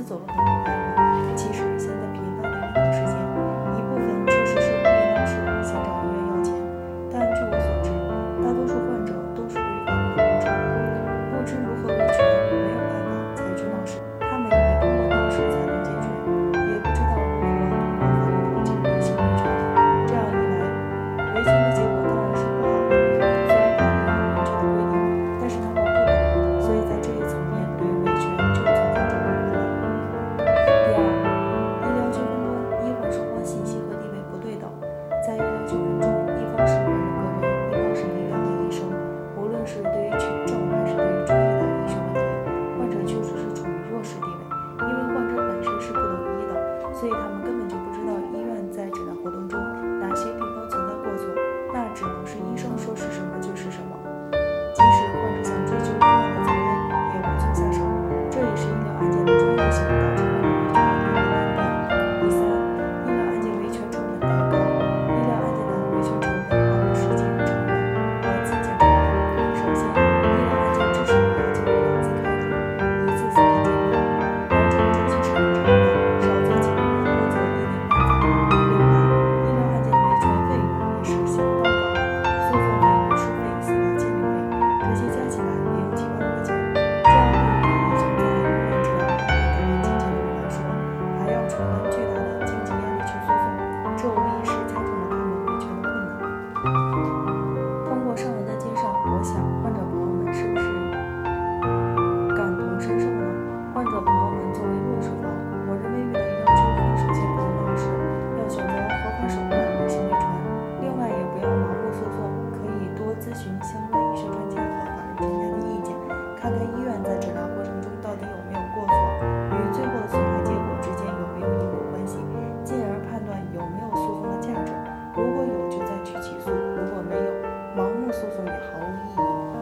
走了很多歪路。其实现在频繁的医疗事件，一部分确实是故意闹事，想找医院要钱，但据我所知，大多数患者都是对于法律的不知如何维权，没有办法才去闹事。他们以为通过闹事才能解决，也不知道如何通过法律途径履行维权。这样一来，维权的结果当然是不好的。虽然法律有明确的规定，但是他们不懂，所以在这一层面对维权就存在种种困难。第二，医疗纠纷中，医患双方信息和地位不对等。在医疗纠纷中，一方是患者个人，一方是医院和医生。无论是对于群众还是对于专业的医学问题，患者确实是处于弱势地位，因为患者本身是不懂医的，所以他们根本就不知道医院在诊疗活动中哪些地方存在过错，那只能是医生说是什么就是什么。即使患者想追究医院的责任，也无从下手。这也是医疗案件的专业性导致患者维权的一个难点。第三，医疗案件维权成本太高。医疗案件的维权成本包括时间成本和金钱成本。首先，医疗案件至少要经过2次开庭，1次司法鉴定，流程周期是很长的，少则几个月，多则1年半载。另外，医疗案件的维权费用也是相当高，诉讼费、律师费、司法鉴定费，这些加起来也有几万块钱。这样对于已经在医院治疗500万多元金钱的人来说，还要承担巨大的经济压力去诉讼，这无疑是加重了他们维权的困难。通过上文的介绍，我想患者朋友们是不是感同身受呢？患者朋友们作为弱势方，我认为遇到医疗纠纷，首先不能闹事，要选择合法手段履行维权。另外，也不要盲目诉讼，可以多咨询相关医学专家和法律专家的意见，看看医院在诊疗过程中到底有没有过错，与最后的损害结果之间有没有因果关系，进而判断有没有诉讼的价值。如果有，就再去起诉；如果没有，盲目诉讼也毫无意义。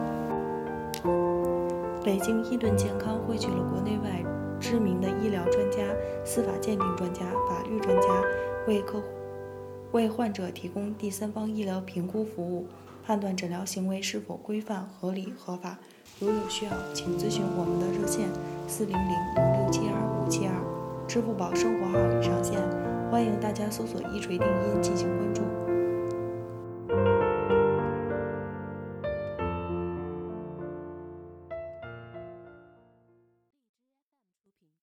北京伊顿健康汇聚了国内外知名的医疗专家、司法鉴定专家、法律专家，为患者提供第三方医疗评估服务，判断诊疗行为是否规范、合理、合法。如有需要，请咨询我们的热线400-0672-572，支付宝生活号已上线，欢迎大家搜索一锤定音进行关注。